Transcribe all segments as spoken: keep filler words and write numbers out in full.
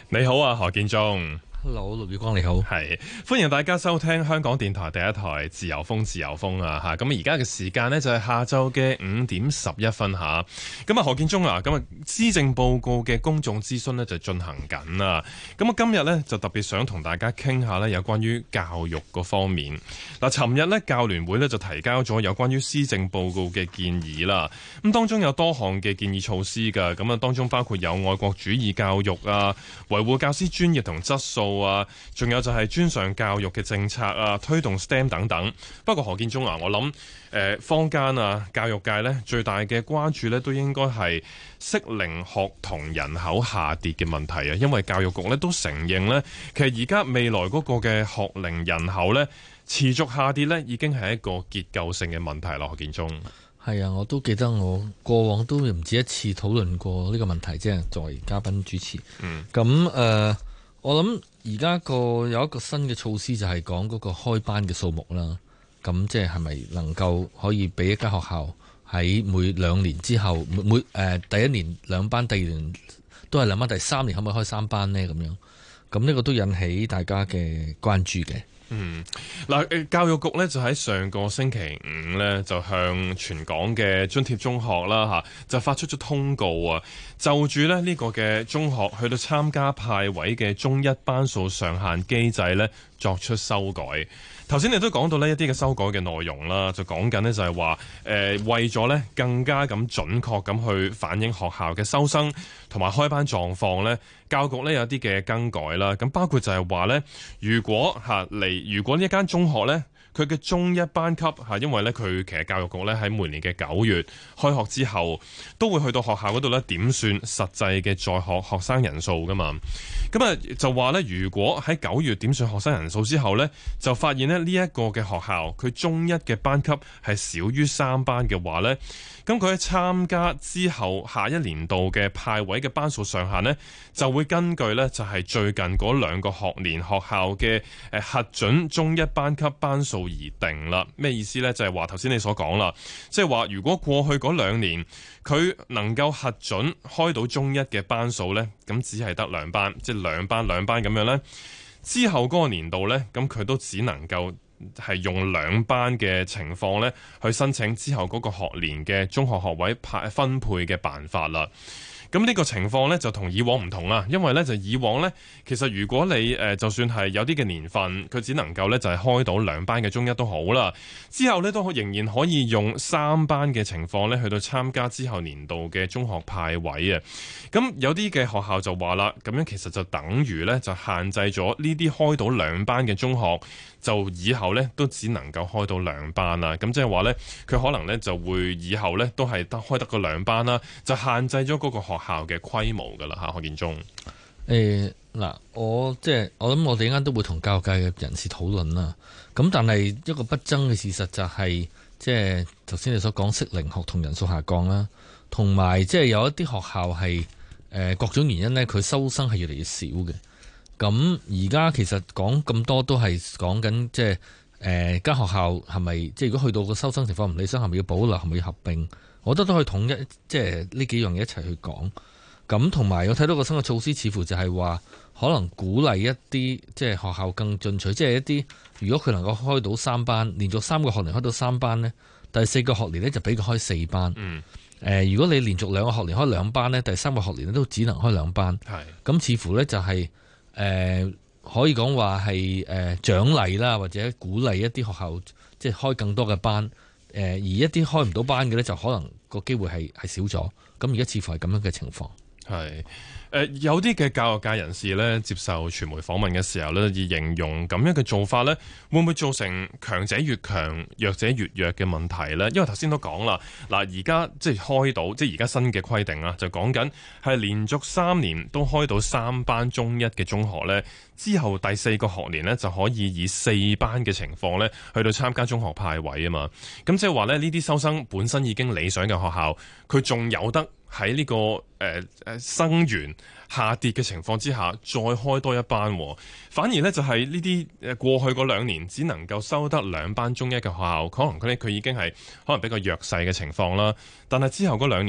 你好啊，何建中。 Hello， 陸宇光你好， 係歡迎大家收聽香港電台第一台自由風自由風啊吓，咁而家嘅時間呢，就係下晝嘅五點十一分吓，咁啊何建中啊，咁啊施政報告嘅公眾諮詢呢，就進行緊啦，咁啊今日呢，就特別想同大家傾下呢有關於教育嗰方面。嗱，尋日呢，教聯會呢，就提交咗有關於施政報告嘅建議啦，咁當中有多項嘅建議措施噶，咁啊當中包括有愛國主義教育啊，維護教師專業同質素啊，仲有就係專上教育嘅政策啊，推動 S T E M 等等。不過何建中啊，我諗誒坊間啊，教育界呢最大嘅關注呢都應該係適齡學童人口下跌嘅問題啊，因為教育局呢都承認呢，其實而家未來嗰個嘅學齡人口呢持續下跌呢已經係一個結構性嘅問題啦。何建中， 係啊，我都記得我過往都唔止一次討論過呢個問題，即係作為嘉賓主持。 嗯， 咁誒、呃，我諗而家個有一個新嘅措施就係講嗰個開班嘅數目啦。咁即係係咪能夠可以俾一間學校喺每兩年之後，每每誒、呃、第一年兩班，第二年都係兩班，第三年可唔可以開三班呢？咁樣，咁呢個都引起大家嘅關注嘅。 嗯，嗱，誒，教育局咧就喺上個星期五咧就向全港嘅津貼中學啦吓，就發出咗通告啊，就住咧呢個嘅中學去到參加派位嘅中一班數上限機制咧作出修改。頭先你都講到呢一啲嘅修改嘅內容啦，就講緊呢就係話誒為咗咧更加咁準確咁去反映學校嘅收生同埋開班狀況咧，教育局咧有啲嘅更改啦。咁包括就係話咧，如果嚇嚟，如果呢一間中學咧，佢嘅中一班級嚇，因為咧佢其實教育局咧喺每年嘅九月開學之後，都會去到學校嗰度咧點算實際嘅在學學生人數噶嘛。咁啊就話咧，如果喺九月點算學生人數之後咧，就發現咧呢一個嘅學校佢中一嘅班級係少於三班嘅話咧，咁佢喺參加之後下一年度嘅派位嘅班數上限呢，就會根據呢就係最近嗰兩個學年學校嘅誒核准中一班級班數而定啦。咩意思呢？就係話頭先你所講啦，即係話如果過去嗰兩年佢能夠核准開到中一嘅班數呢，咁只係得兩班，即係兩班兩班咁樣呢。之後嗰個年度呢，咁佢都只能夠係用兩班嘅情況呢去申請之後嗰個學年嘅中學學位派分配嘅辦法啦。咁呢個情況呢，就同以往唔同啦，因為呢，就以往呢，其實如果你誒就算係有啲嘅年份，佢只能夠呢，就係開到兩班嘅中一都好啦，之後呢，都仍然可以用三班嘅情況呢，去到參加之後年度嘅中學派位啊。咁有啲嘅學校就話啦，咁樣其實就等於呢，就限制咗呢啲開到兩班嘅中學，就以後呢，都只能夠開到兩班啦。咁即係話呢，佢可能呢，就會以後呢，都係得開得個兩班啦，就限制咗嗰個學校嘅規模噶啦吓。何建中， 誒嗱，我即係我諗，我哋一間都會同教育界嘅人士討論啦。咁但係一個不爭嘅事實就係、是，即係頭先你所講適齡學童人數下降啦，同埋即係有一啲學校係誒各種原因呢，佢收生係越嚟越少嘅。咁而家其實講咁多都係講緊，即係誒間學校係咪即係如果去到個收生情況唔理想，係咪要保留，係咪要合併？我覺得都可以統一，即係呢幾樣嘢一齊去講。咁同埋我睇到個新嘅措施，似乎就係話可能鼓勵一啲即係學校更進取，即係一啲如果佢能夠開到三班，連續三個學年開到三班呢，第四個學年呢就俾佢開四班。嗯。誒、呃，如果你連續兩個學年開兩班呢，第三個學年都只能開兩班。係。咁似乎呢就係、是、誒、呃、可以講話係誒獎勵啦，或者鼓勵一啲學校即係開更多嘅班。誒而一啲開唔到班嘅呢，就可能個機會係係少咗。咁而家似乎係咁樣嘅情況。係。 誒、呃、有啲嘅教育界人士咧接受傳媒訪問嘅時候咧，以形容咁樣嘅做法咧，會唔會造成強者越強、弱者越弱嘅問題咧？因為頭先都講啦，嗱而家即係開到，即係而家新嘅規定啦，就講緊係連續三年都開到三班中一嘅中學咧，之後第四個學年咧就可以以四班嘅情況咧去到參加中學派位啊嘛。咁即係話咧，呢啲收生本身已經理想嘅學校，佢仲有得喺呢個誒誒生源下跌嘅情況之下，再開多一班，反而呢，就係呢啲誒過去嗰兩年只能夠收得兩班中一嘅學校，可能佢佢已經係可能比較弱勢嘅情況啦。但係之後嗰兩年呢，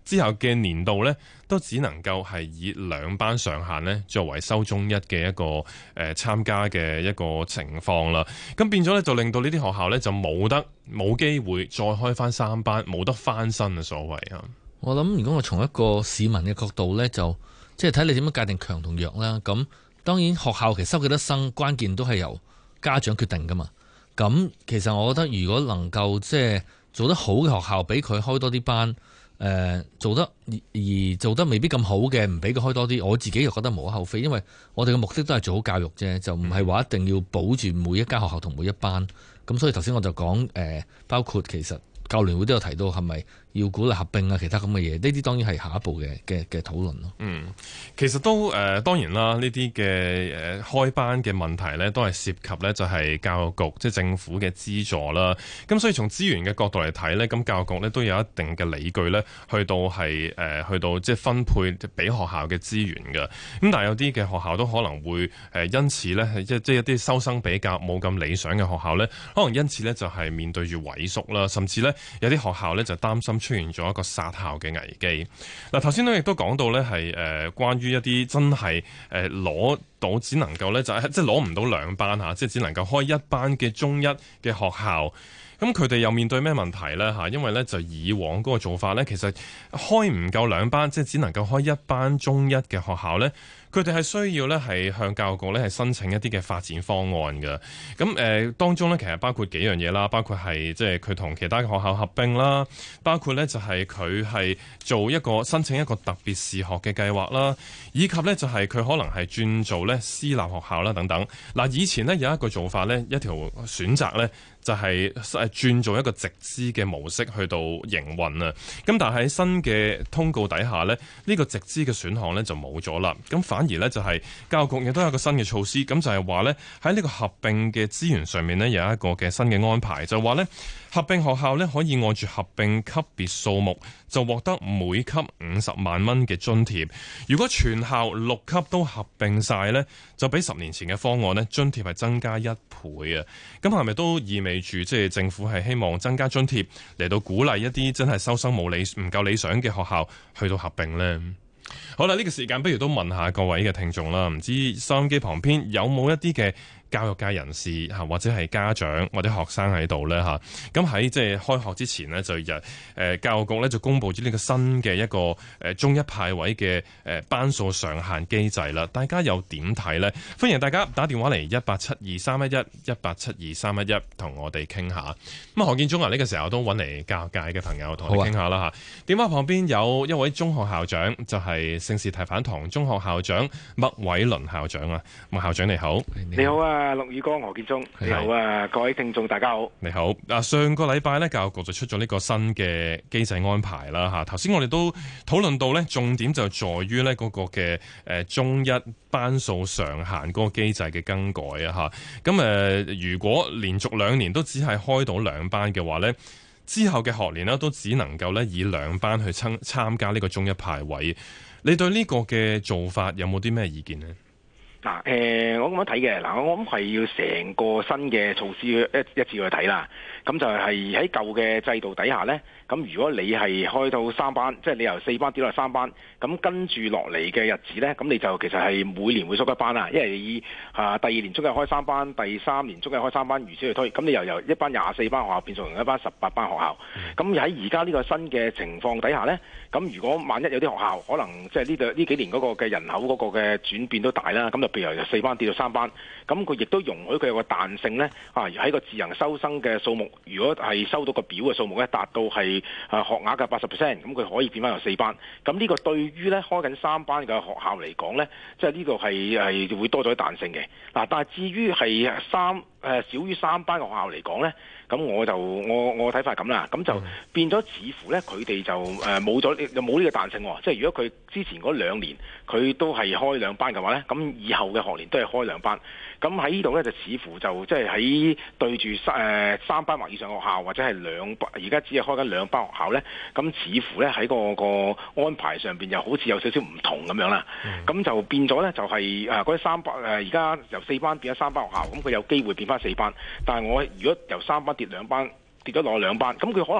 之後嘅年度呢，都只能夠係以兩班上限呢作為收中一嘅一個誒、呃、參加嘅一個情況啦。咁變咗呢，就令到呢啲學校呢，就冇得冇機會再開翻三班，冇得翻身嘅所謂啊。 我諗如果我從一個市民嘅角度呢，就即係睇你點樣界定強同弱啦。咁當然學校其實收幾多生，關鍵都係由家長決定噶嘛。咁其實我覺得如果能夠即係做得好嘅學校，俾佢開多啲班。誒、呃、做得而而做得未必咁好嘅，唔俾佢開多啲，我自己又覺得無可厚非，因為我哋嘅目的都係做好教育啫，就唔係話一定要保住每一間學校同每一班。咁所以頭先我就講誒、呃，包括其實教聯會都有提到係咪要鼓勵合併啊，其他咁嘅嘢，呢啲當然係下一步嘅嘅嘅討論咯。 嗯，其實都誒、呃、當然啦，呢啲嘅誒開班嘅問題咧，都係涉及咧就係教育局即係政府嘅資助啦。咁所以從資源嘅角度嚟睇咧，咁教育局咧都有一定嘅理據咧，去到係誒、呃、去到即係分配俾學校嘅資源嘅。咁但係有啲嘅學校都可能會誒因此咧係即即係一啲收生比較冇咁理想嘅學校咧，可能因此咧就係面對住萎縮啦，甚至咧有啲學校咧就擔心出現咗一個殺校嘅危機。嗱，頭先都亦都講到咧係誒關於一啲真係誒攞到只能夠咧就係即係攞唔到兩班嚇，即係只能夠開一班嘅中一嘅學校。咁佢哋又面對咩問題呢？嚇？因為咧就以往嗰個做法咧，其實開唔夠兩班，即係只能夠開一班中一嘅學校咧。佢哋係需要咧係向教育局咧係申請一啲嘅發展方案嘅。咁誒、呃、當中咧其實包括幾樣嘢啦，包括係即係佢同其他嘅學校合併啦，包括咧就係佢係做一個申請一個特別視學嘅計劃啦，以及咧就係佢可能係轉做咧私立學校啦等等。嗱，以前咧有一個做法咧，一條選擇咧。就係誒轉做一個直資嘅模式去到營運啊，咁但係喺新嘅通告底下呢，呢、呢個直資嘅選項呢就冇咗啦，咁反而呢，就係教育局亦都有一個新嘅措施，咁就係話呢，喺呢個合併嘅資源上面呢，有一個嘅新嘅安排，就話呢，合併學校呢可以按住合併級別數目就獲得每級五十萬蚊嘅津貼，如果全校六級都合併晒呢，就比十年前嘅方案呢津貼係增加一倍啊，咁係咪都意味住即係政府係希望增加津貼嚟到鼓勵一啲真係收生冇理唔夠理想嘅學校去到合併呢？好啦，呢個時間不如都問下各位嘅聽眾啦，唔知收音機旁邊有冇一啲嘅教育界人士嚇，或者係家長或者學生喺度咧嚇，咁喺即係開學之前呢，就日誒教育局咧就公布咗呢個新嘅一個誒中一派位嘅誒班數上限機制啦。大家又點睇呢？歡迎大家打電話嚟一八七二三一一一八七二三一一，同我哋傾下。咁啊，何建忠啊，呢個時候都揾嚟教育界嘅朋友同我哋傾下啦嚇。電話旁邊有一位中學校長，就係聖士提反堂中學校長麥偉倫校長啊。麥校長你好， 你好啊。啊，陸宇光、何建忠，你好啊，各位聽眾大家好。 你好。啊，上個禮拜咧，教育局就出咗呢個新嘅機制安排啦，吓。頭先我哋都討論到咧，重點就在於咧嗰個嘅誒中一班數上限嗰個機制嘅更改啊，吓。咁誒，如果連續兩年都只係開到兩班嘅話咧，之後嘅學年呢都只能夠咧以兩班去參參加呢個中一派位。你對呢個嘅做法有冇啲咩意見呢？ 嗱，誒，我咁樣睇嘅，嗱，我諗係要成個新嘅措施一一致去睇啦。咁就係喺舊嘅制度底下呢，咁如果你係開到三班，即係你由四班跌落三班，咁跟住落嚟嘅日子呢，咁你就其實係每年會縮一班啦。因為以啊第二年中一開三班，第三年中一開三班，如此類推，咁你又由一班廿四班學校變成一班十八班學校。咁喺而家呢個新嘅情況底下呢，咁如果萬一有啲學校可能即係呢度呢幾年嗰個嘅人口嗰個嘅轉變都大啦，咁就譬如由四班跌到三班，咁佢亦都容許佢有個彈性呢，啊喺個自行收生嘅數目，如果係收到個表嘅數目咧達到係啊學額嘅八十 percent，咁佢可以變翻由四班。咁呢個對於咧開緊三班嘅學校嚟講咧，即係呢度係係會多咗彈性嘅。嗱，但係至於係三誒少於三班嘅學校嚟講咧，咁我就我我睇法係咁啦，咁就變咗似乎咧佢哋就誒冇咗又冇呢個彈性喎。即係如果佢之前嗰兩年佢都係開兩班嘅話咧，咁以後嘅學年都係開兩班。咁喺呢度咧就似乎就即係喺對住三誒三班或以上學校或者係兩班，而家只係開緊兩班學校咧，咁似乎咧喺個個安排上邊又好似有少少唔同咁樣啦。咁、嗯、就變咗咧就係誒嗰啲三班誒而家由四班變咗三班學校，咁佢有機會變翻四班。但係我如果由三班跌兩班，跌咗落兩班，咁佢可能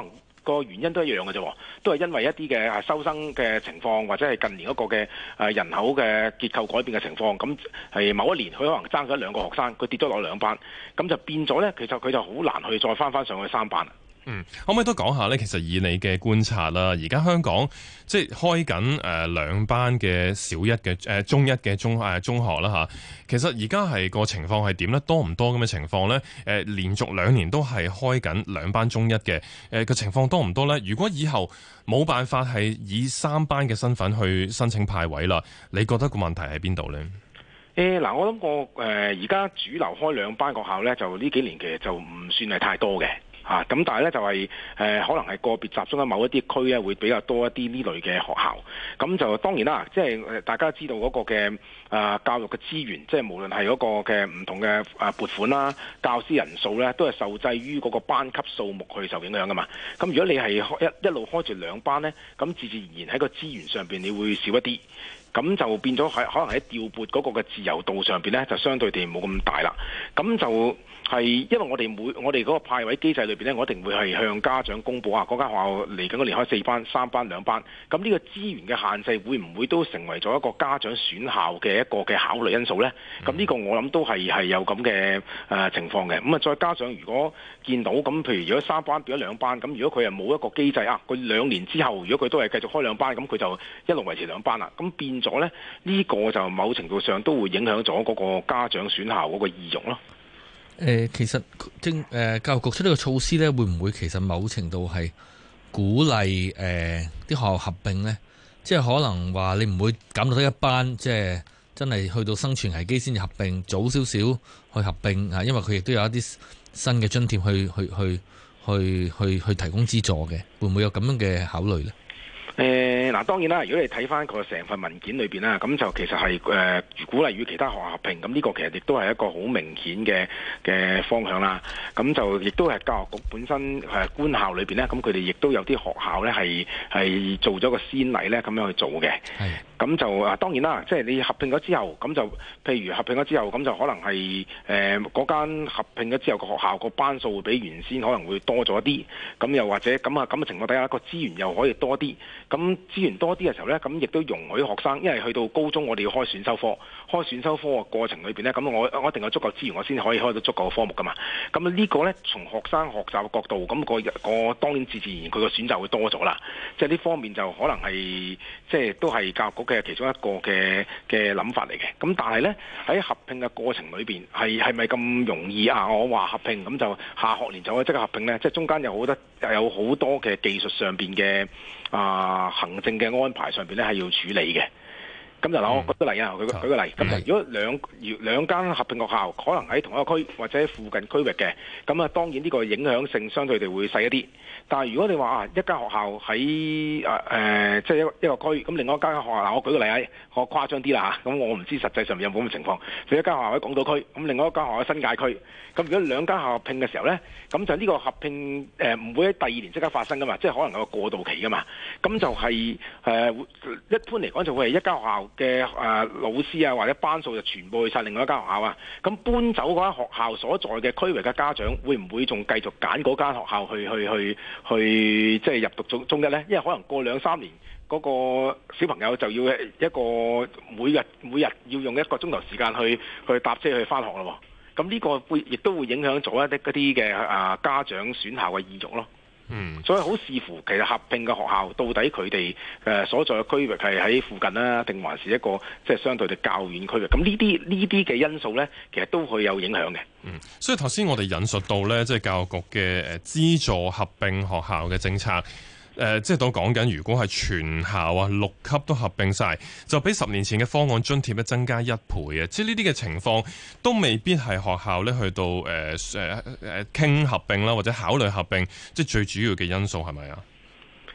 個原因都一樣嘅啫，都係因為一啲嘅收生嘅情況，或者係近年嗰個嘅誒人口嘅結構改變嘅情況。咁係某一年佢可能爭咗兩個學生，佢跌咗落兩班，咁就變咗呢，其實佢就好難去再翻翻上去三班。 嗯，可唔可以都講下呢？其實以你嘅觀察啦，而家香港即係開緊誒兩班嘅小一嘅誒、呃、中一嘅中誒、呃、中學啦嚇。其實而家係個情況係點呢？多唔多咁嘅情況呢？誒、呃、連續兩年都係開緊兩班中一嘅誒個情況多唔多呢？如果以後冇辦法係以三班嘅身份去申請派位啦，你覺得個問題喺邊度呢？ 誒嗱、呃，我諗過誒而家主流開兩班學校呢，就呢幾年其實就唔算係太多嘅。啊，咁但係咧就係、是、誒、呃，可能係個別集中喺某一啲區咧，會比較多一啲呢類嘅學校。咁就當然啦，即係大家知道嗰個嘅誒、呃、教育嘅資源，即係無論係嗰個嘅唔同嘅誒撥款啦、教師人數咧，都係受制於嗰個班級數目去受影響噶嘛。咁如果你係一一路開住兩班咧，咁自自然然喺個資源上邊，你會少一啲。咁就變咗喺可能喺調撥嗰個嘅自由度上邊咧，就相對地冇咁大啦。咁就係因為我哋每我哋嗰個派位機制裏邊咧，我一定會係向家長公佈啊，嗰間學校嚟緊嗰年開四班、三班、兩班。咁呢個資源嘅限制會唔會都成為咗一個家長選校嘅一個嘅考慮因素咧？咁呢個我諗都係係有咁嘅誒情況嘅。咁啊，再加上如果見到咁，譬如如果三班變咗兩班，咁如果佢係冇一個機制啊，佢兩年之後如果佢都係繼續開兩班，咁佢就一路維持兩班啦。咁變咗咧，呢個就某程度上都會影響咗嗰個家長選校嗰個意欲咯。 誒、呃，其實政誒教育局出呢個措施咧，會唔會其實某程度係鼓勵誒啲學校合併呢？即係可能話你唔會減到得一班，即係真係去到生存危機先至合併，早少少去合併啊，因為佢亦都有一啲新嘅津貼去去去去去去提供資助嘅，會唔會有咁樣嘅考慮呢？ 誒嗱、呃，當然啦，如果你睇翻個成份文件裏邊啦，咁就其實係誒、呃、鼓勵與其他學校合併，咁呢個其實亦都係一個好明顯嘅嘅方向啦。咁就亦都係教育局本身誒官校裏邊咧，咁佢哋亦都有啲學校咧係係做咗個先例咧，咁樣去做嘅。係。咁就啊，當然啦，即係你合併咗之後，咁就譬如合併咗之後，咁就可能係誒嗰間合併咗之後個學校個班數會比原先可能會多咗啲，咁又或者咁啊咁嘅情況底下，個資源又可以多啲。咁資源多啲嘅時候呢，咁亦都容許學生，因為去到高中我哋要開選修科，開選修科嘅過程裏邊呢，咁我我一定有足夠資源，我先可以開到足夠嘅科目噶嘛。咁呢個呢，從學生學習嘅角度，咁、個個當然自自然佢個選擇會多咗啦。即係呢方面就可能係即係都係教育局嘅其中一個嘅嘅諗法嚟嘅。咁但係呢，喺合併嘅過程裏邊係係咪咁容易啊？我話合併咁就下學年就可以即刻合併呢？即係中間有好多有好多嘅技術上邊嘅啊行政嘅安排上邊咧係要處理嘅。咁就嗱，我舉個例啊，舉舉個例。咁如果兩兩間合併學校可能喺同一個區或者附近區域嘅，咁啊當然呢個影響性相對地會細一啲。但係如果你話啊一間學校喺誒誒即係一個一個區，咁另外一間學校嗱，我舉個例啊，我誇張啲啦嚇，咁我唔知實際上面有冇咁嘅情況。譬如一間學校喺港島區，咁另外一間學校喺新界區，咁如果兩間學校合併嘅時候咧，咁就呢個合併誒唔、呃、會喺第二年即刻發生噶嘛，即係可能有個過渡期噶嘛。咁就係、是、誒、呃、一般嚟講就會係一間學校嘅誒、呃、老師啊或者班數就全部去晒另外一間學校啊。咁搬走嗰間學校所在嘅區域嘅家長會唔會仲繼續揀嗰間學校去去去去即係入讀中中一呢？因為可能過兩三年嗰、那個小朋友就要一個每日每日要用一個鐘頭時間去去搭車去返學咯。咁呢個會亦都會影響咗一啲嗰啲嘅啊家長選校嘅意欲咯。嗯，所以好視乎其實合併嘅學校到底佢哋誒所在嘅區域係喺附近啦，定還是一個即係相對地較遠區域？咁呢啲呢啲嘅因素咧，其實都會有影響嘅。 嗯，所以頭先我哋引述到咧，即係教育局嘅誒資助合併學校嘅政策。誒、呃，即係都講緊，如果係全校啊六級都合併晒，就比十年前嘅方案津貼咧增加一倍啊！即係呢啲嘅情況都未必係學校咧去到誒誒誒傾合併啦，或者考慮合併，即係最主要嘅因素係咪啊？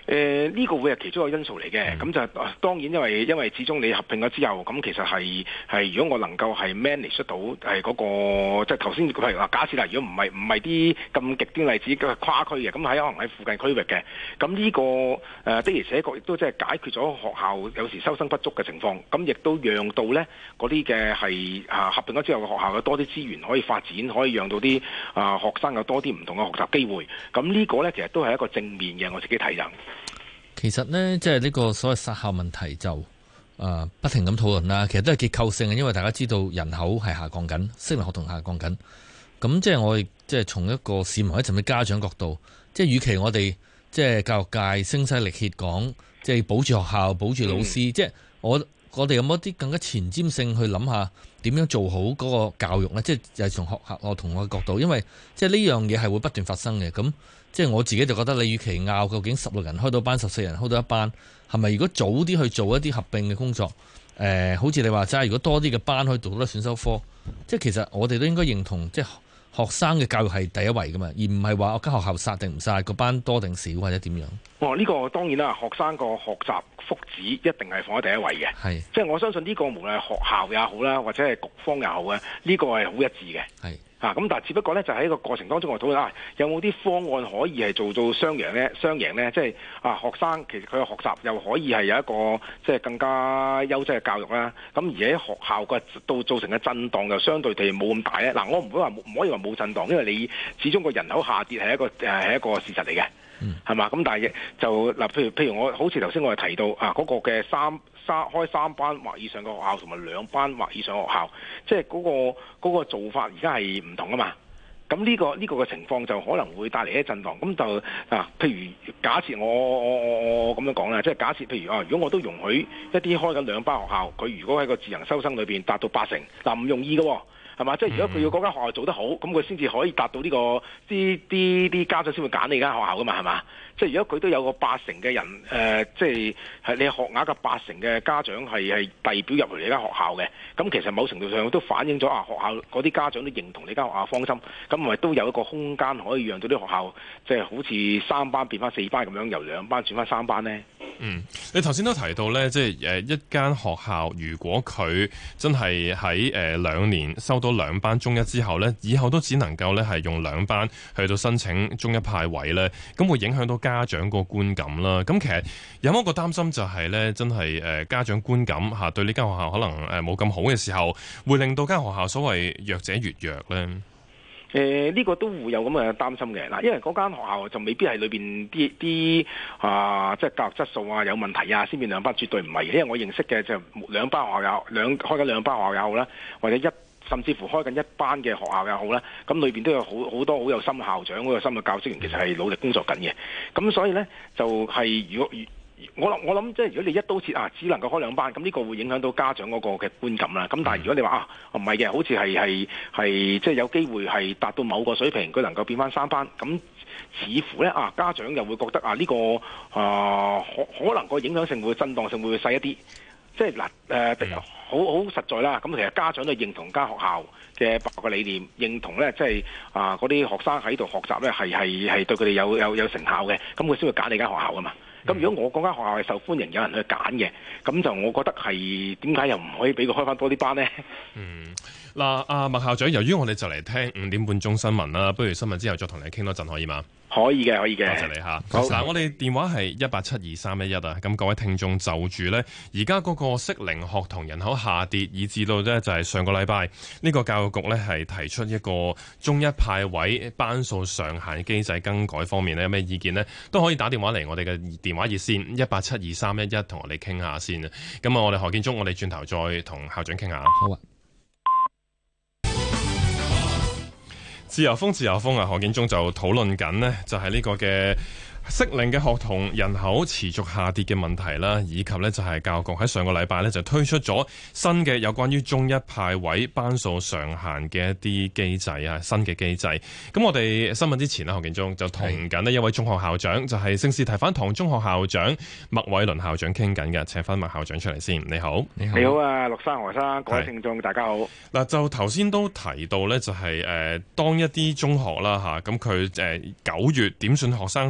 誒、呃、呢、這個會係其中一個因素嚟嘅，咁、嗯、就當然因為因為始終你合併咗之後，咁其實係係如果我能夠係 manage 到係嗰、那個即係頭先譬如話假設啦，如果唔係唔係啲咁極端例子嘅跨區嘅，咁喺可能喺附近區域嘅，咁呢、這個誒、呃、的而且確亦都即係解決咗學校有時收生不足嘅情況，咁亦都讓到咧嗰啲嘅係啊合併咗之後嘅學校有多啲資源可以發展，可以讓到啲啊學生有多啲唔同嘅學習機會，咁呢個咧其實都係一個正面嘅，我自己睇就。 其實呢，即係呢個所謂殺校問題就誒、呃、不停咁討論啦。其實都係結構性嘅，因為大家知道人口係下降緊，適齡學童下降緊。咁即係我哋即係從一個市民或者甚至家長角度，即係與其我哋即係教育界聲嘶力竭講，即係保住學校、保住老師，嗯、即係我我哋有冇一啲更加前瞻性去諗下點樣做好嗰個教育呢？即係就係從學校我同我嘅角度，因為即係呢樣嘢係會不斷發生嘅。咁即係我自己就覺得，你與其拗究竟十六人開到班，十四人開到一班，係咪如果早啲去做一啲合併嘅工作？誒、呃，好似你話齋，如果多啲嘅班可以讀到選修科，即係其實我哋都應該認同，即係學生嘅教育係第一位噶嘛，而唔係話我間學校殺定唔殺，個班多定少或者點樣？ 哦，呢、這個當然啦，學生個學習福祉一定係放喺第一位嘅，係即係我相信呢個無論係學校也好啦，或者係局方也好咧，呢、這個係好一致嘅。係。啊，咁但係只不過咧，就喺個過程當中我討論啊，有冇啲方案可以係做到雙贏咧？雙贏咧，即係啊，學生其實佢嘅學習又可以係有一個即係更加優質嘅教育啦。咁而喺學校嘅到造成嘅震盪又相對地冇咁大咧。嗱，我唔會話唔可以話冇震盪，因為你始終個人口下跌係一個誒係一個事實嚟嘅，係嘛？咁但係就嗱，譬如譬如我好似頭先我哋提到啊，嗰個嘅三。三開三班或以上嘅學校同埋兩班或以上嘅學校，即係嗰個嗰個做法而家係唔同啊嘛。咁呢個呢個嘅情況就可能會帶嚟一啲震盪。咁就啊，譬如假設我我我我咁樣講啦，即係假設譬如啊，如果我都容許一啲開緊兩班學校，佢如果喺個自行收生裏邊達到八成，嗱唔容易嘅喎。係嘛？即係如果佢要嗰間學校做得好，咁佢先至可以達到呢、這個啲啲啲家長先會揀你間學校噶嘛？係嘛？即係如果佢都有個八成嘅人，誒、呃，即係係你學額嘅八成嘅家長係係遞表入嚟你間學校嘅，咁其實某程度上都反映咗啊，學校嗰啲家長都認同你間學校方針，咁咪都有一個空間可以讓到啲學校即係好似三班變翻四班咁樣，由兩班轉翻三班呢？ 嗯，你頭先都提到咧，即係誒一間學校，如果佢真係喺誒兩年收到兩班中一之後咧，以後都只能夠咧係用兩班去到申請中一派位咧，咁會影響到家長個觀感啦。咁其實有冇一個擔心就係咧，真係誒家長觀感嚇對呢間學校可能誒冇咁好嘅時候，會令到間學校所謂弱者越弱咧？ 誒、呃、呢、這個都會有咁嘅擔心嘅嗱，因為嗰間學校就未必係裏邊啲啲啊，即係教育質素啊有問題啊，先變兩班，絕對唔係。因為我認識嘅就兩班學校有兩開緊兩班學校也好啦，或者一甚至乎開緊一班嘅學校也好啦，咁裏邊都有好好多好有心校長、好有心嘅教職員，其實係努力工作緊嘅。咁所以呢，就係、是、如果我諗我諗即係如果你一刀切啊，只能夠開兩班，咁呢個會影響到家長嗰個嘅觀感啦。咁但係如果你話啊唔係嘅，好似係係係即係有機會係達到某個水平，佢能夠變翻三班，咁似乎咧啊家長又會覺得啊呢、這個啊可可能個影響性會震盪性會細一啲。即係嗱誒好好實在啦。咁其實家長都認同間學校嘅辦學理念，認同咧即係啊嗰啲學生喺度學習咧係係係對佢哋有有有成效嘅，咁佢先會揀你間學校㗎嘛。咁如果我嗰間學校係受歡迎，有人去揀嘅，咁就我覺得係點解又唔可以俾佢開翻多啲班呢？嗯， 嗱，阿麥校長，由於我哋就嚟聽五點半鐘新聞啦，不如新聞之後再同你傾多陣可以嗎？ 可以嘅，可以嘅。 多謝你嚇。嗱，我哋電話係一八七二三一一啊。咁各位聽眾就住呢，而家嗰個適齡學童人口下跌，以至到呢就係上個禮拜呢個教育局呢係提出一個中一派位班數上限機制更改方面呢，有咩意見呢？都可以打電話嚟我哋嘅電話熱線一八七二三一一，同我哋傾下先啊。咁啊，我哋何建忠，我哋轉頭再同校長傾下。好啊。自由風，自由風啊！何建忠就討論緊呢，就係呢個嘅適齡嘅學童人口持續下跌嘅問題啦，以及呢就係教育局喺上個禮拜呢就推出咗新嘅有關於中一派位班數上限嘅一啲機制啊，新嘅機制。咁我哋新聞之前呢，何建忠就同緊呢一位中學校長，就係聖士提反堂中學校長麥偉倫校長傾緊嘅，請翻麥校長出嚟先。你好， 你好，你好啊，陸生何生，各位聽眾大家好。 嗱，就頭先都提到呢，就係誒當一啲中學啦嚇，咁佢誒九月點算學生之後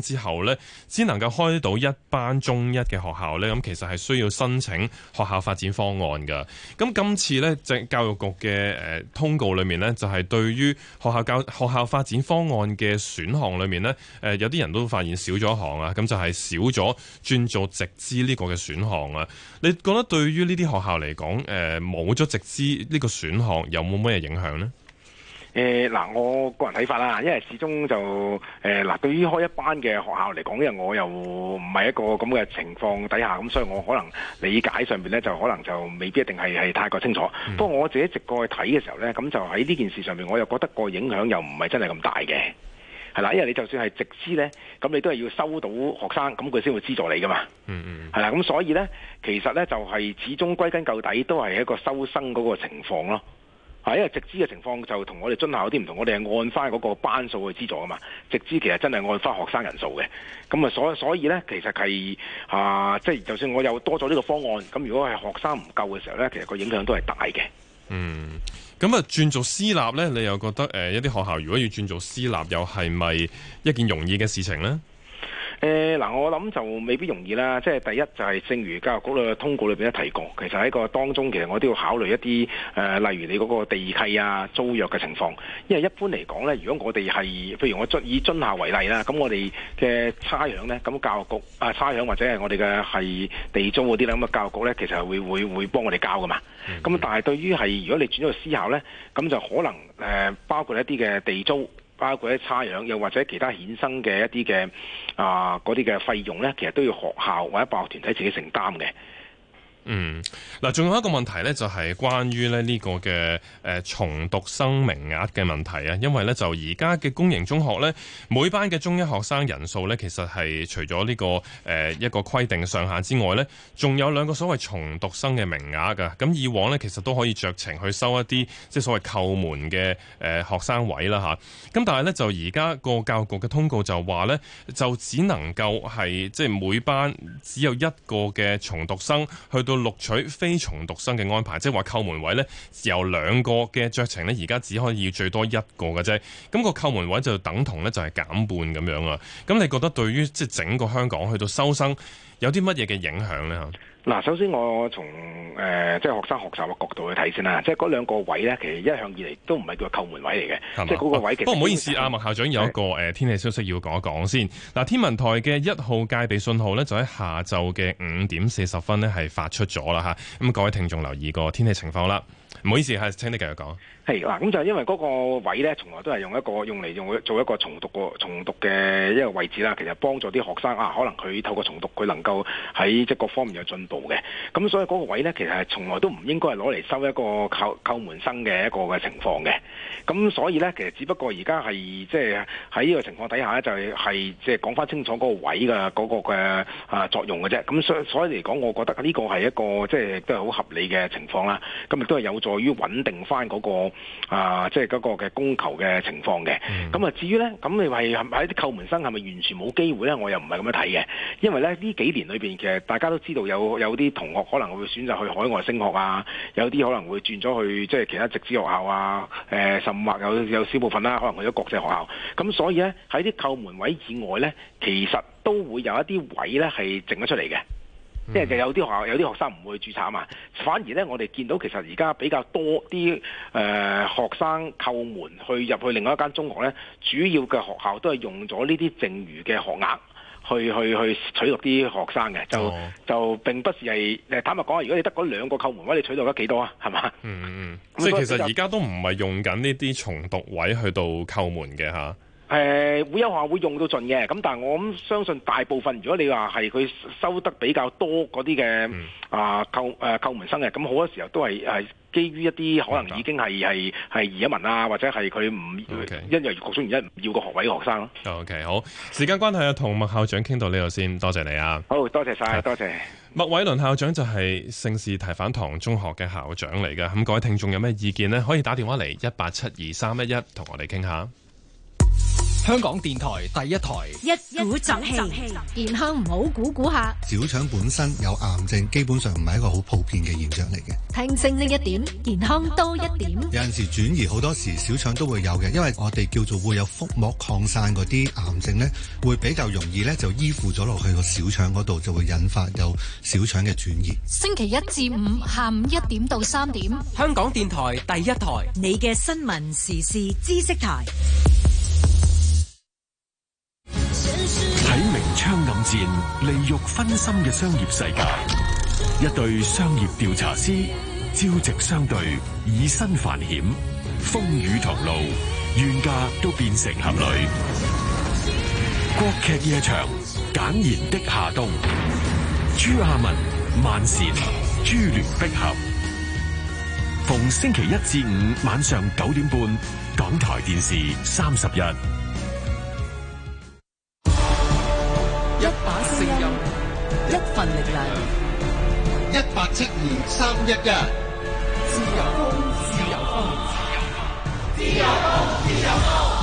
後呢，只能夠開到一班中一嘅學校呢，咁其實係需要申請學校發展方案㗎。咁今次呢，即係教育局嘅誒通告裏面呢，就係對於學校教學校發展方案嘅選項裏面呢，誒有啲人都發現少咗一項啊，咁就係少咗轉做直資呢個嘅選項啊。你覺得對於呢啲學校嚟講，誒冇咗直資呢個選項有冇咩影響呢？ 誒嗱、呃，我個人睇法啦，因為始終就誒嗱、呃，對於開一班嘅學校嚟講，因為我又唔係一個咁嘅情況底下，咁所以我可能理解上邊咧，就可能就未必一定係係太過清楚。嗯、不過我自己直過去睇嘅時候咧，咁就喺呢件事上面，我又覺得個影響又唔係真係咁大嘅，係啦，因為你就算係直資咧，咁你都係要收到學生，咁佢先會資助你噶嘛。嗯嗯。係啦，咁所以咧，其實咧就係始終歸根究底都係一個收生嗰個情況咯。係，因為直資嘅情況就同我哋津校有啲唔同，我哋係按翻嗰個班數去資助啊嘛。直資其實真係按翻學生人數嘅，咁啊所所以咧，其實係啊，即係就算我有多咗呢個方案，咁如果係學生唔夠嘅時候咧，其實個影響都係大嘅。嗯， 咁啊轉做私立咧，你又覺得誒一啲學校如果要轉做私立，又係咪一件容易嘅事情咧？ 誒嗱、呃，我諗就未必容易啦。即係第一就係正如教育局嘅通告裏邊都提過，其實喺個當中，其實我都要考慮一啲誒、呃，例如你嗰個地契啊、租約嘅情況。因為一般嚟講咧，如果我哋係譬如我以津校為例啦，咁我哋嘅差餉咧，咁教育局啊差餉或者係我哋嘅係地租嗰啲咧，咁啊教育局咧其實係會會會幫我哋交噶嘛。咁、嗯、但係對於係如果你轉咗去私校咧，咁就可能誒、呃、包括一啲嘅地租。包括一啲差餉，又或者其他衍生嘅一啲嘅啊嗰啲嘅費用咧，其實都要學校或者辦學團體自己承擔嘅。 嗯，嗱，仲有一個問題咧，就係關於咧呢個嘅誒重讀生名額嘅問題啊。因為咧就而家嘅公營中學咧，每班嘅中一學生人數咧，其實係除咗呢個誒一個規定上限之外咧，仲有兩個所謂重讀生嘅名額噶。咁以往咧，其實都可以酌情去收一啲即係所謂扣門嘅誒學生位啦吓。咁但係咧就而家個教育局嘅通告就話咧，就只能夠係即係每班只有一個嘅重讀生去到錄取非重讀生嘅安排，即係話扣門位呢，由兩個嘅酌情呢，而家只可以最多一個嘅啫。咁個扣門位就等同呢，就係減半咁樣啊。咁你覺得對於即係整個香港去到收生有啲乜嘢嘅影響呢？ 嗱，首先我從誒、呃、即係學生學習嘅角度去睇先啦，即係嗰兩個位咧，其實一向以嚟都唔係叫扣門位嚟嘅，吧即係嗰個位其實。不過唔好意思，阿麥校長有一個誒是天氣消息要講一講先。嗱，天文台嘅一號戒備信號咧，就喺下晝嘅五點四十分咧係發出咗啦嚇。咁各位聽眾留意個天氣情況啦。唔好意思，係請你繼續講。 係嗱，咁就係因為嗰個位咧，從來都係用一個用嚟用做一個重讀個重讀嘅一個位置啦。其實幫助啲學生啊，可能佢透過重讀，佢能夠喺即係各方面有進步嘅。咁所以嗰個位咧，其實係從來都唔應該係攞嚟收一個扣扣門生嘅一個嘅情況嘅。咁所以咧，其實只不過而家係即係喺呢個情況底下咧，就係係即係講翻清楚嗰個位嘅嗰個嘅啊作用嘅啫。咁所所以嚟講，我覺得呢個係一個即係都係好合理嘅情況啦。咁亦都係有助於穩定翻嗰個啊，即係嗰個嘅供求嘅情況嘅。咁啊、嗯，至於咧，咁你係喺啲扣門生係咪完全冇機會咧？我又唔係咁樣睇嘅，因為咧呢幾年裏邊其實大家都知道有有啲同學可能會選擇去海外升學啊，有啲可能會轉咗去即係其他直資學校啊，誒、呃、甚或有有少部分啦，可能去咗國際學校。咁所以咧喺啲扣門位以外咧，其實都會有一啲位咧係剩咗出嚟嘅。即係就有啲學校有啲學生唔會註冊啊嘛，反而咧我哋見到其實而家比較多啲誒、呃、學生扣門去入去另外一間中學咧，主要嘅學校都係用咗呢啲剩餘嘅學額去去去取錄啲學生嘅，就、哦、就並不是係誒坦白講，如果你得嗰兩個扣門位，你取錄得幾多啊？係嘛？嗯嗯， 即係其實而家都唔係用緊呢啲重讀位去到扣門嘅嚇。 誒、呃、會有學校會用到盡嘅，咁但係我諗相信大部分，如果你話係佢收得比較多嗰啲嘅啊扣誒、呃、扣門生嘅，咁好多時候都係係基於一啲可能已經係係係移民啊，或者係佢唔因為各種原因唔要個學位嘅學生咯。 OK， 好，時間關係啊，同麥校長傾到呢度先，多謝你啊。 好多謝晒，多謝。 麥偉倫校長就係聖士提反堂中學嘅校長嚟嘅，咁各位聽眾有咩意見呢？可以打電話嚟一八七二三一一同我哋傾下。 香港電台第一台， 一鼓作氣，健康唔好估估下。 小腸本身有癌症，基本上唔係一個好普遍嘅現象嚟嘅。 聽清呢一點，健康多一點。 有陣時轉移，好多時小腸都會有嘅，因為我哋叫做會有腹膜擴散嗰啲癌症呢，會比較容易呢就依附咗落去個小腸嗰度，就會引發有小腸嘅轉移。 星期一至五下午一點到三點， 香港電台第一台， 你嘅新聞時事知識台。 喺明槍暗箭、利欲熏心嘅商業世界，一對商業調查師朝夕相對，以身犯險，風雨同路，冤家都變成俠侶。國劇夜場，簡言的夏冬，朱亞文、萬茜，珠聯璧合。逢星期一至五晚上九點半，港台電視三十一。 一把聲音， 一份力量， 一八七二三一一。 自由風，自由風，自由風，自由風。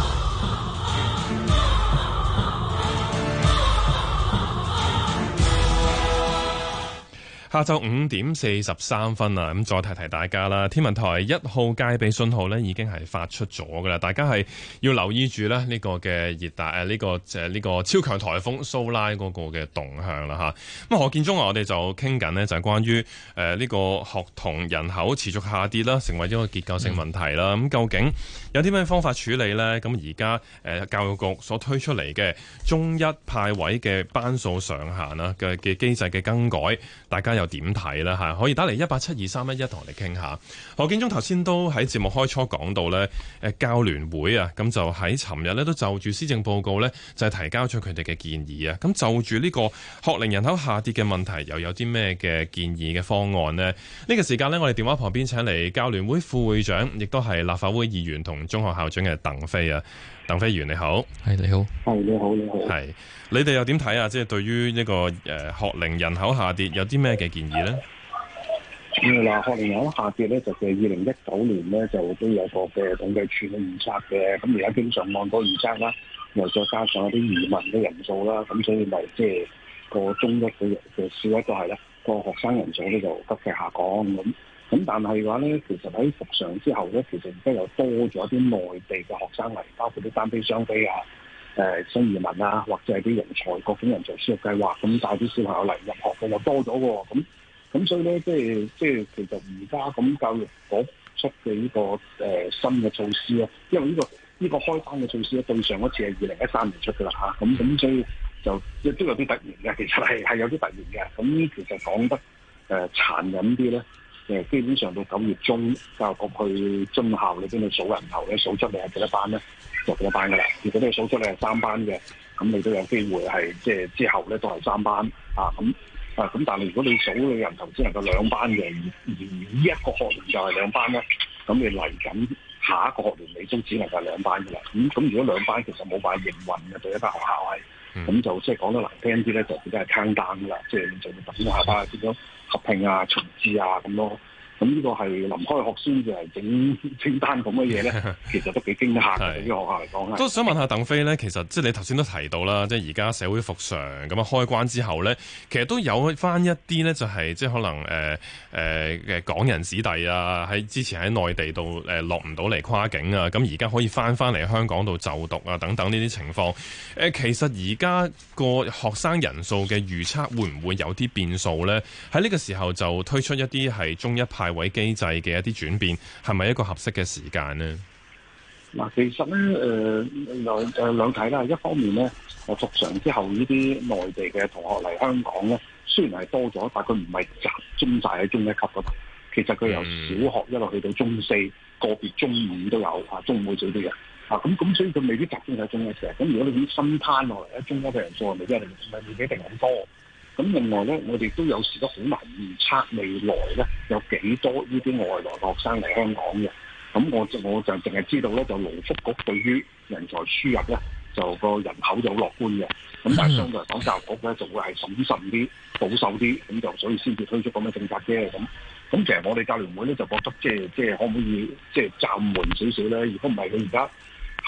下晝五點四十三分啊！咁再提提大家啦，天文台一號戒備信號呢已經係發出咗㗎啦，大家係要留意住咧呢個嘅熱帶誒呢個誒呢個超強颱風蘇拉嗰個嘅動向啦嚇。咁何建中啊，我哋就傾緊呢，就係關於誒呢個學童人口持續下跌啦，成為咗個結構性問題啦。咁、嗯、究竟有啲咩方法處理呢？咁而家誒教育局所推出嚟嘅中一派位嘅班數上限啦嘅嘅機制嘅更改，大家又點睇啦嚇？可以打嚟一八七二三一一同我哋傾下。何建中頭先都喺節目開初講到咧，誒教聯會啊，咁就喺尋日咧都就住施政報告咧，就係提交咗佢哋嘅建議啊。咁就住呢個學齡人口下跌嘅問題，又有啲咩嘅建議嘅方案呢？呢、呢個時間呢，我哋電話旁邊請嚟教聯會副會長，亦都係立法會議員同中學校長嘅鄧飛啊。鄧飛議員你好， 係你好， 係你好，你好， 係你哋又點睇啊？即係對於呢個誒學齡人口下跌有啲咩嘅建議呢？ 咁嗱，學齡人口下跌咧，就係二零一九年咧就都有個嘅統計處嘅預測嘅。咁而家經常按嗰個預測啦，又再加上有啲移民嘅人數啦，咁所以咪即係個中一嘅嘅小一都係咧，個學生人數咧就急劇下降咁。咁但係嘅話咧，其實喺復常之後咧，其實而家又多咗啲內地嘅學生嚟，包括啲單非雙非啊、誒、呃、新移民啊，或者係啲人才各種人才輸入計劃，咁帶啲小朋友嚟入學嘅又多咗喎。咁咁所以咧，即係即係其實而家咁教育局出嘅呢、這個誒、呃、新嘅措施啊，因為呢、這個呢、這個開班嘅措施咧，對上一次係二零一三年出嘅啦嚇，咁咁所以就亦都有啲突然嘅，其實係係有啲突然嘅。咁其實講得誒、呃、殘忍啲咧。誒基本上到九月中，教育局去津校裏邊去數人頭咧，數出嚟係幾多班咧，就幾多班噶啦。如果你數出嚟係三班嘅，咁你都有機會係即係之後咧都係三班啊。咁啊咁，但係如果你數嘅人頭只能夠兩班嘅，而而呢一個學年就係兩班咧，咁你嚟緊下，下一個學年你都只能夠兩班噶啦。咁、嗯、咁如果兩班其實冇辦法營運嘅，對一間學校係，咁、嗯、就即係講得難聽啲咧，就變咗係 count down 噶啦，即係你就要等下班變咗合併啊、重置啊咁咯。咁呢個係臨開學先至係整清單咁嘅嘢咧，其實都幾驚嚇嘅。對於學校嚟講， 都想問下鄧飛咧，其實即係你頭先都提到啦，即係而家社會復常咁啊開關之後咧，其實都有翻一啲咧，就係即係可能誒誒嘅港人子弟啊，喺之前喺內地度誒落唔到嚟跨境啊，咁而家可以翻翻嚟香港度就讀啊等等呢啲情況。誒、呃，其實而家個學生人數嘅預測會唔會有啲變數咧？喺呢個時候就推出一啲係中一派位機制嘅一啲轉變，係咪一個合適嘅時間呢？ 嗱，其實咧，誒兩誒兩睇啦。一方面咧，誒復常之後呢啲內地嘅同學嚟香港咧，雖然係多咗，但佢唔係集中晒喺中一級嗰度。其實佢由小學一路去到中四，個別中五都有啊，中五會少啲嘅啊。咁咁，所以佢未必集中喺中一嘅。咁如果你啲新攤落嚟咧，中一嘅人數未必一定未必一定咁多。咁另外咧，我哋都有時都好難預測未來咧有幾多呢啲外來學生嚟香港嘅。咁我就我就淨係知道咧，就勞福局對於人才輸入咧，就個人口就好樂觀嘅。咁但係相對嚟講，教育局咧就會係審慎啲、保守啲，咁就所以先至推出咁嘅政策啫。咁咁其實我哋教聯會咧就覺得即係即係可唔可以即係暫緩少少咧？如果唔係佢而家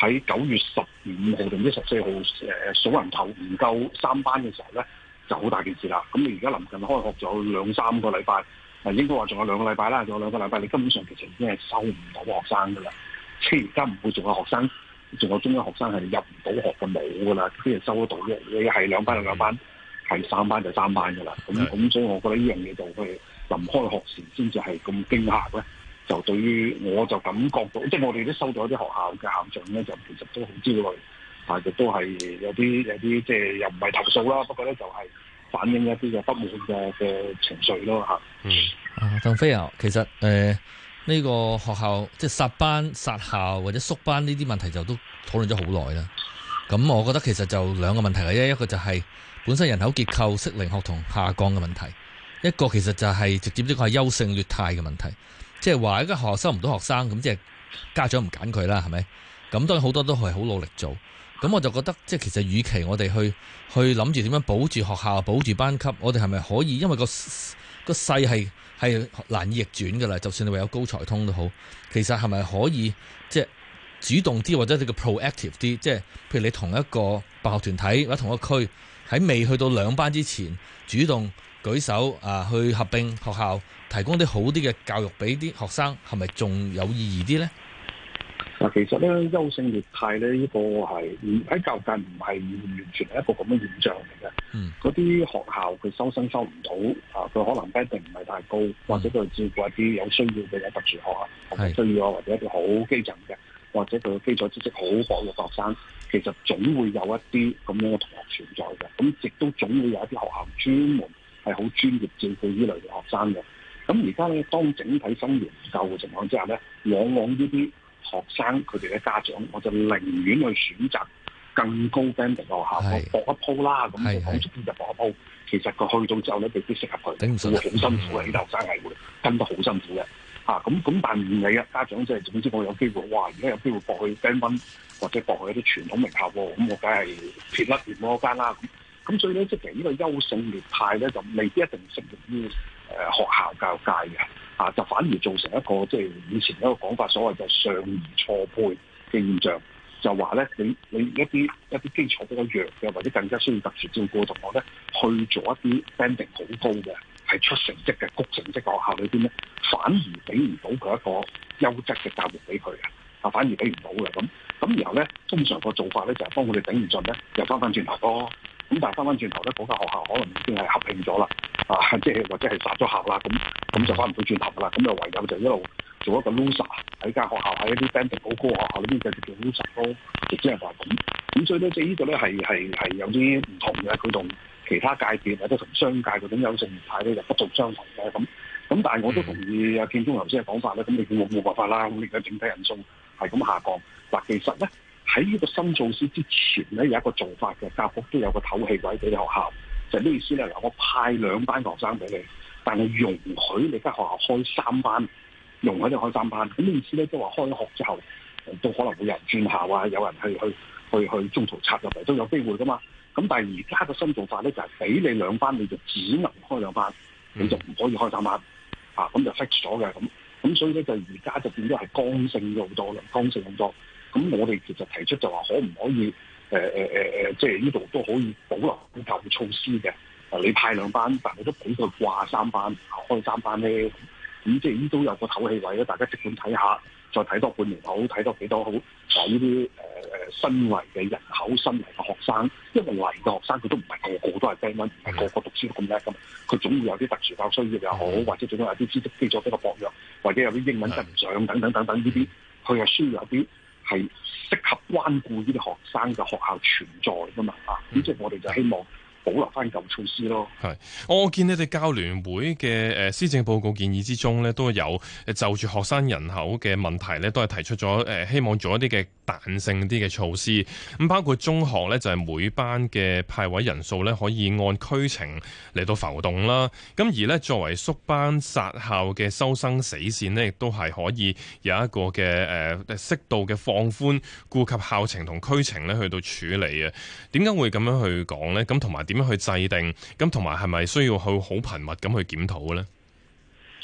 喺九月十五號定唔知十四號誒數人頭唔夠三班嘅時候咧，就好大件事啦。咁你而家臨近開學仲有兩三個禮拜，誒應該話仲有兩個禮拜啦，仲有兩個禮拜，你根本上其實已經係收唔到學生噶啦。即係而家唔會仲有學生，仲有中一學生係入唔到學嘅冇噶啦，啲人收得到嘅。你係兩班就兩班，係三班就三班噶啦。咁咁所以我覺得呢樣嘢就係臨開學時先至係咁驚嚇咧。就對於我就感覺到，即係我哋都收到一啲學校嘅校長咧，就其實都好焦慮，但係亦都係有啲有啲即係又唔係投訴啦，不過咧就係反映一啲嘅不滿嘅嘅情緒咯嚇。 嗯，啊，鄧飛啊，其實誒呢、呃呢個學校即係殺班、殺校或者縮班呢啲問題就都討論咗好耐啦。咁我覺得其實就兩個問題嘅啫，一個就係本身人口結構適齡學童下降嘅問題，一個其實就係直接呢個係優勝劣汰嘅問題。即係話一間學校收唔到學生，咁即係家長唔揀佢啦，係咪？咁當然好多都係好努力做。咁我就覺得，即係其實與其我哋去去諗住點樣保住學校、保住班級，我哋係咪可以？因為個個勢係係難以逆轉㗎啦。就算你話有高才通都好，其實係咪可以即係主動啲，或者你個 proactive 啲？即係譬如你同一個辦學團體或者同一個區喺未去到兩班之前，主動舉手啊，去合併學校，提供啲好啲嘅教育俾啲學生，係咪仲有意義啲咧？ 嗱，其實咧優勝劣汰咧呢個係喺教育界唔係完全係一個咁嘅現象嚟嘅。嗯，嗰啲學校佢收生收唔到啊，佢可能一定唔係太高，或者佢照顧一啲有需要嘅有特殊學校學需要啊，或者一啲好基層嘅，或者佢嘅基礎知識好薄嘅學生，其實總會有一啲咁樣嘅同學存在嘅。咁亦都總會有一啲學校專門係好專業照顧呢類嘅學生嘅。咁而家咧，當整體生源唔夠嘅情況之下咧，往往呢啲學生佢哋嘅家長，我就寧願去選擇更高 band 嘅學校，我搏一鋪啦。咁就講足啲就搏一鋪。其實佢去到之後咧，未必適合佢，會好辛苦嘅。啲學生係會跟得好辛苦嘅。嚇咁咁，但唔理啊，家長即係總之我有機會，哇！而家有機會搏去 band one 或者搏去一啲傳統名校喎，咁我梗係撇甩完嗰間啦。咁所以咧，即係呢個優勝劣汰咧，就未必一定適用於誒學校教育界嘅，啊，就反而造成一個即係以前一個講法，所謂就上而錯配嘅現象，就話咧，你你一啲一啲基礎比較弱嘅，或者更加需要特殊照顧嘅同學咧，去做一啲 banding 好高嘅，係出成績嘅谷成績嘅學校裏邊咧，反而俾唔到佢一個優質嘅教育俾佢嘅，啊，反而俾唔到嘅咁。咁然後咧，通常個做法咧就係幫佢哋頂唔順咧，又翻返轉頭咯。咁但係翻返轉頭咧，嗰間學校可能已經係合併咗啦，啊，即係或者係殺咗校啦，咁咁就翻唔到轉頭噶啦，咁就唯有就一路做一個 loser 喺間學校，喺一啲 banding 好高嘅學校裏邊繼續做 loser 咯，亦即係話咁。咁所以咧，即係呢個咧係係係有啲唔同嘅，佢同其他界別或者同商界嗰種優勝劣汰咧就不盡相同嘅咁。咁但係我都同意阿建中頭先嘅講法咧，咁你叫我冇辦法啦，咁你而家整體人數係咁下降。嗱，其實咧。喺呢個新措施之前咧，有一個做法嘅，教育局都有個透氣位俾你學校，就係、是、咩意思咧？嗱，我派兩班學生俾你，但係容許你間學校開三班，容許你開三班。咁咩意思咧？即係話開學之後，都可能會有人轉校啊，有人去去去去中途插入嚟都有機會噶嘛。咁但係而家個新做法咧，就係、是、俾你兩班，你就只能開兩班，你就唔可以開三班。啊，咁就 fix 咗嘅咁。咁所以咧，就而家就變咗係剛性咗好多啦，剛性好多。咁我哋其實提出就話可唔可以誒誒誒誒，即係呢度都可以保留舊措施嘅。誒，你派兩班，但係都俾佢掛三班，開三班咧。咁即係呢都有個透氣位咧，大家即管睇下，再睇多半年好，睇多幾多好。啊，呢啲誒誒新嚟嘅人口、新嚟嘅學生，因為嚟嘅學生佢都唔係個個都係 band one，唔係個個讀書都咁叻噶嘛。佢總會有啲特殊教育需要又好，或者總會有啲知識基礎比較薄弱，或者有啲英文跟唔上等等等等呢啲，佢係需要有啲。係適合關顧呢啲學生嘅學校存在噶嘛啊，咁即係我哋就希望保留翻舊措施咯。 係，我見你哋教聯會嘅誒施政報告建議之中咧，都有誒就住學生人口嘅問題咧，都係提出咗誒希望做一啲嘅彈性啲嘅措施。咁包括中學咧，就係每班嘅派位人數咧，可以按區情嚟到浮動啦。咁而咧作為縮班殺校嘅收生死線咧，亦都係可以有一個嘅誒適度嘅放寬，顧及校情同區情咧去到處理啊。點解會咁樣去講咧？咁同埋點樣去制定？咁同埋係咪需要去好頻密咁去檢討咧？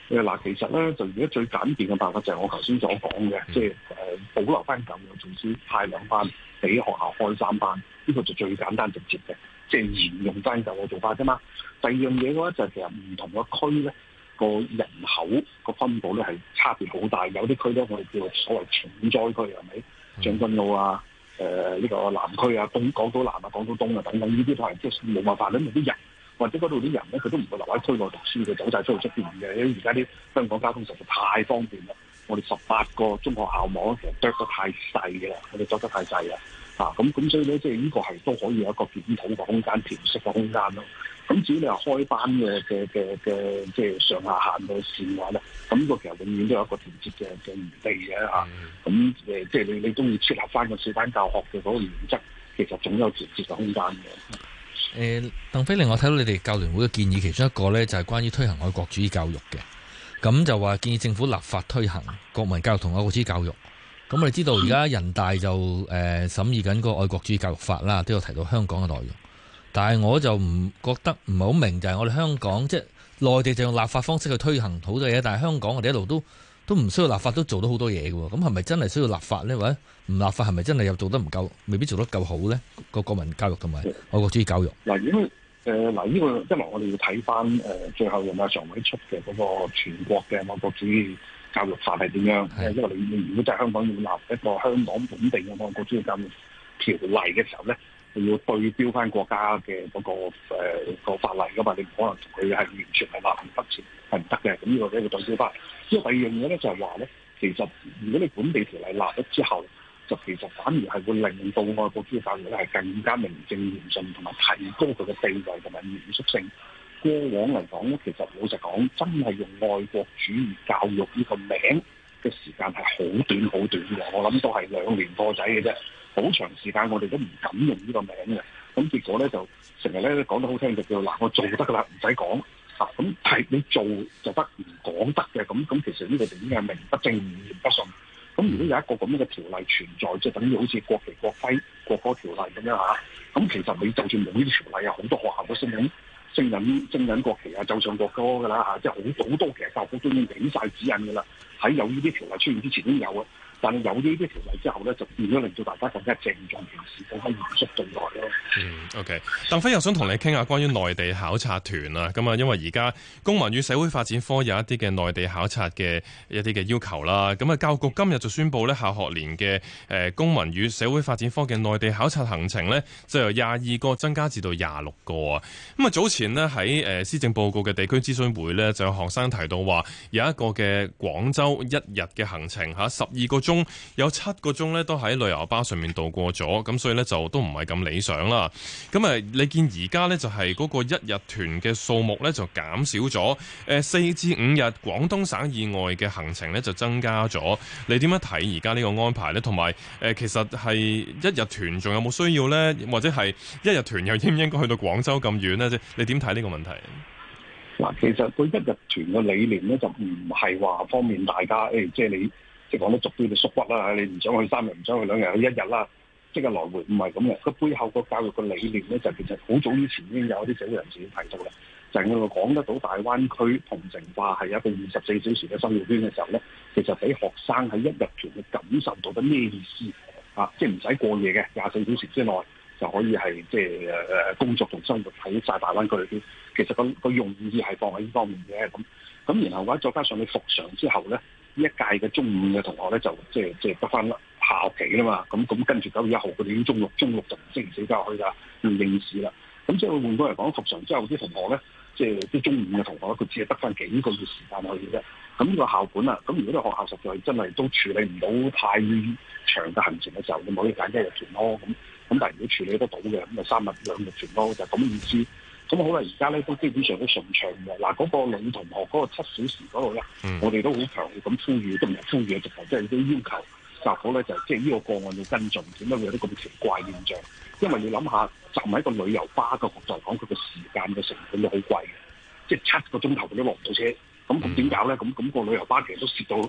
誒嗱，其實咧就而家最簡便嘅辦法就係我頭先所講嘅，即係誒保留翻舊嘅措施，派兩班俾學校開三班，呢個就最簡單直接嘅，即係沿用翻舊嘅做法啫嘛。第二樣嘢嘅話就係其實唔同嘅區咧個人口個分佈咧係差別好大，有啲區咧我哋叫做所謂重災區係咪？將軍澳啊，誒、呃、呢、這個南區啊，東港島南啊，港島東啊等等，呢啲都係即係冇辦法，因為啲人或者嗰度啲人咧，佢都唔會留喺區內讀書，佢走晒出去出邊嘅。因為而家啲香港交通實在太方便啦，我哋十八個中學校網其實啄得太細嘅啦，我哋作得太細啦，啊咁咁所以咧，即係呢個係都可以有一個檢討嘅空間、調適嘅空間咯。咁至於你話開班嘅嘅嘅嘅即係上下限嘅線嘅話咧，咁呢個其實永遠都有一個調節嘅嘅餘地嘅嚇。咁誒、呃、即係你你都要設立翻個小班教學嘅嗰個原則，其實總有調節嘅空間嘅。 誒，鄧飛，另外睇到你哋教聯會嘅建議，其中一個咧就係關於推行愛國主義教育嘅，咁就話建議政府立法推行國民教育同愛國主義教育。咁我哋知道而家人大就誒審議緊個愛國主義教育法啦，都有提到香港嘅內容。但係我就唔覺得唔係好明，就係我哋香港即係內地就用立法方式去推行好多嘢，但係香港我哋一路都都唔需要立法，都做到好多嘢嘅喎。咁係咪真係需要立法呢？或者唔立法係咪真係又做得唔夠，未必做得夠好呢？個國民教育同埋愛國主義教育嗱，因為誒嗱呢個，因為我哋要睇翻誒最後人大常委出嘅嗰個全國嘅愛國主義教育法係點樣？係因為你你如果真係香港要立一個香港本地嘅愛國主義教育條例嘅時候咧，你要對標翻國家嘅嗰、嗰個誒、呃嗰個法例噶嘛，你唔可能同佢係完全係立唔得前係唔得嘅。咁呢個咧要對標翻。因為第二樣嘢咧就係話咧，其實如果你本地條例立咗之後，就其實反而係會令到愛國主義教育咧係更加名正言順，同埋提高佢嘅地位同埋嚴肅性。過往嚟講咧，其實老實講，真係用愛國主義教育呢個名嘅時間係好短好短嘅。我諗都係兩年多仔嘅啫，好長時間我哋都唔敢用呢個名嘅。咁結果咧就成日咧講得好聽就叫嗱，我做得噶啦，唔使講啊。咁係你做就得，唔講得嘅。咁咁其實呢個就已經係名不正言不順。咁如果有一個咁樣嘅條例存在，即係等於好似國旗、國徽、國歌條例咁樣嚇，咁其實你就算冇呢啲條例啊，好多學校都升緊升緊升緊國旗啊，奏唱國歌㗎啦嚇，即係好好多其實教育局都已經俾晒指引㗎啦。喺有呢啲條例出現之前都有啊，但係有呢啲條例之後咧，就變咗令到大家更加鄭重其事，更加嚴肅對待咯。 嗯 ，OK， 鄧飛又想同你傾下關於內地考察團啊，咁啊，因為而家公民與社會發展科有一啲嘅內地考察嘅一啲嘅要求啦，咁啊，教育局今日就宣布咧，下學年嘅誒公民與社會發展科嘅內地考察行程咧，就由廿二個增加至到廿六個啊。咁啊，早前呢，喺誒施政報告嘅地區諮詢會咧，就有學生提到話有一個嘅廣州一日嘅行程嚇，十二個鐘有七個鐘咧都喺旅遊巴上面度過咗，咁所以咧就都唔係咁理想啦。咁啊，你見而家咧就係嗰個一日團嘅數目咧就減少咗，誒四至五日廣東省以外嘅行程咧就增加咗。你點樣睇而家呢個安排咧？同埋誒，其實係一日團仲有冇需要咧？或者係一日團又應唔應該去到廣州咁遠咧？即你點睇呢個問題？ 嗱，其實個一日團嘅理念咧就唔係話方便大家，誒、哎，即係你即係講得俗啲，你縮骨啦，你唔想去三日，唔想去兩日，去一日啦，即係來回，唔係咁嘅。個背後個教育嘅理念咧，就其實好早以前已經有啲社會人士提到啦，就係我哋講得到大灣區同城化係一個二十四小時嘅生活圈嘅時候咧，其實俾學生喺一日團去感受到啲咩意思啊？即係唔使過夜嘅，廿四小時之內就可以係即係誒工作同生活喺晒大灣區裏邊。其實個個用意係放喺呢方面嘅，咁咁然後或者再加上你復常之後咧，呢一屆嘅中五嘅同學咧就即係即係得翻下學期啦嘛，咁咁跟住九月一號佢哋已經中六，中六就唔星期四交去啦，要應試啦。咁即係換句嚟講，復常之後啲同學咧，即係啲中五嘅同學咧，佢只係得翻幾個月時間去嘅啫。咁呢個校本啊，咁如果啲學校實在真係都處理唔到太長嘅行程嘅時候，你咪可以揀一日團咯。咁咁但係如果處理得到嘅，咁咪三日兩日團咯，就咁、是、意思。咁好啦，而家咧都基本上都順暢嘅。嗱，嗰個女同學嗰個七小時嗰度咧，嗯、我哋都好強烈咁呼籲，都唔係呼籲，直頭即係都要求教府咧，就即係呢個個案要跟進。點解會有啲咁奇怪現象？因為你諗下，站喺個旅遊巴嘅角度嚟講，佢個時間嘅成本都好貴嘅，即係七個鐘頭佢都落唔到車。咁咁點搞咧？咁咁、個旅遊巴其實都蝕到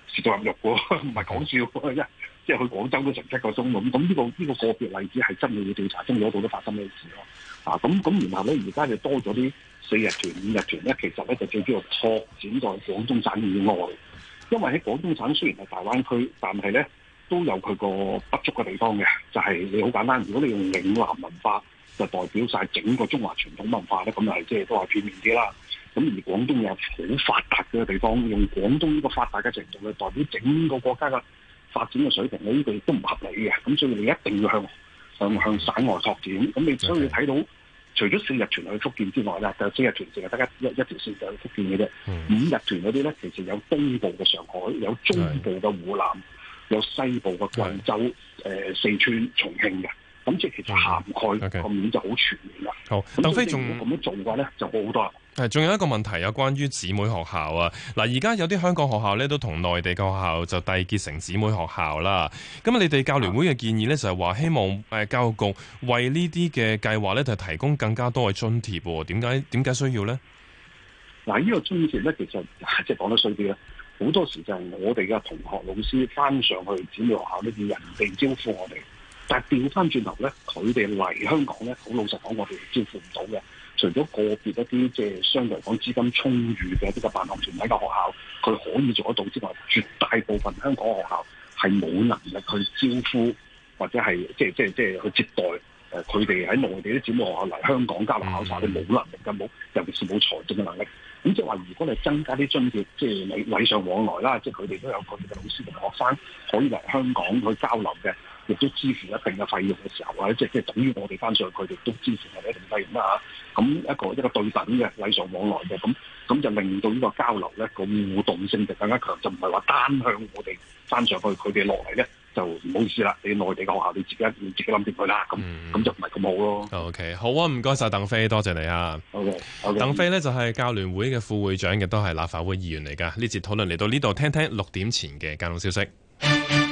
食到入肉喎，唔係講笑喎，一即係去廣州都成七個鐘咁。咁呢個呢個個別例子係真係要調查，真係嗰度都發生咩事咯。啊，咁咁然後咧，而家就多咗啲四日團、五日團咧，其實咧就最主要拓展在廣東省以外，因為喺廣東省雖然係大灣區，但係咧都有佢個不足嘅地方嘅，就係、是、你好簡單，如果你用嶺南文化就代表晒整個中華傳統文化咧，咁係即係都係片面啲啦。咁而廣東有好發達嘅地方，用廣東呢個發達嘅程度去代表整個國家嘅發展嘅水平咧，呢、這個亦都唔合理嘅。咁所以你一定要向向向省外拓展。咁你所以你睇到，除咗四日團去福建之外咧，就四日團淨係得一一一條線就去福建嘅啫。嗯、五日團嗰啲咧，其實有東部嘅上海，有中部嘅湖南，有西部嘅貴州、誒、呃、四川、重慶嘅。咁即係其實涵蓋個面就好全面啦。 好，鄧飛仲咁樣做嘅話咧，就好好多啦。 係，仲有一個問題有關於姊妹學校啊。嗱，而家有啲香港學校咧都同內地嘅學校就締結成姊妹學校啦。咁你哋教聯會嘅建議咧就係話希望誒教育局為呢啲嘅計劃咧就提供更加多嘅津貼喎。點解點解需要咧？ 嗱，呢個津貼咧其實即係講得衰啲咧，好多時就係我哋嘅同學老師翻上去姊妹學校咧，要人哋招呼我哋。但係調翻轉頭咧，佢哋嚟香港咧，好老實講，我哋招呼唔到嘅。除咗個別一啲即係相對嚟講資金充裕嘅一啲嘅辦學團體嘅學校，佢可以做得到之外，絕大部分香港學校係冇能力去招呼或者係即係即係即係去接待誒佢哋喺內地啲姊妹學校嚟香港交流考察，你冇能力嘅，冇尤其是冇財政嘅能力。咁即係話，如果你增加啲津貼，即係禮禮尚往來啦，即係佢哋都有佢哋嘅老師同學生可以嚟香港去交流嘅。亦都支付一定嘅費用嘅時候，或者即係即係等於我哋翻上去，佢哋都支付我哋一定費用啦嚇。咁一個一個對等嘅禮尚往來嘅，咁咁就令到呢個交流咧個互動性就更加強，就唔係話單向我哋翻上去，佢哋落嚟咧就唔好意思啦。你內地嘅學校你自己你自己諗掂佢啦，咁咁、嗯、就唔係咁好咯。 OK， 好啊，唔該晒鄧飛，多謝你啊。 OK，, okay 鄧飛咧就係教聯會嘅副會長，亦都係立法會議員嚟㗎。呢節討論嚟到呢度，聽聽六點前嘅交通消息。